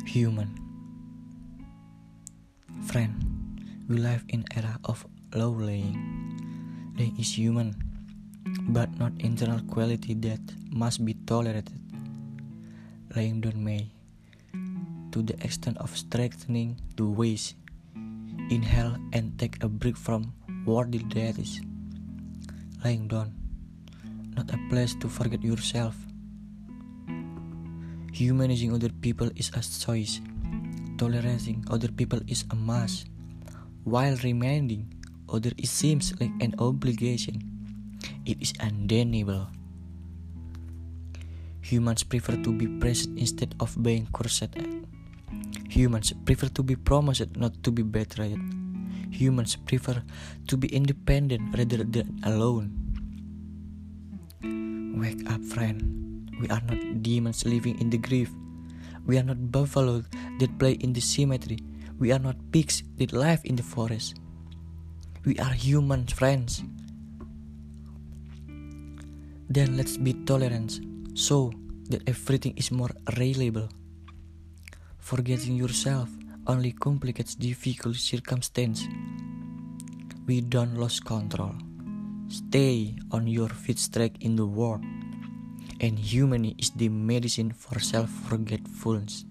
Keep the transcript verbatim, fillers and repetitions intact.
Human. Friend, we live in era of low laying. Laying is human, but not internal quality that must be tolerated. Laying down may, to the extent of strengthening the waist. Inhale and take a break from worldly duties. Lying down, not a place to forget yourself. Humanizing other people is a choice. Tolerating other people is a must. While reminding others it seems like an obligation, it is undeniable. Humans prefer to be praised instead of being cursed. Humans prefer to be promised, not to be betrayed. Humans prefer to be independent rather than alone. Wake up, friend. We are not demons living in the grave. We are not buffalo that play in the cemetery. We are not pigs that live in the forest. We are human friends. Then let's be tolerant, so that everything is more reliable. Forgetting yourself only complicates difficult circumstances. We don't lose control. Stay on your feet straight in the world. And humanity is the medicine for self-forgetfulness.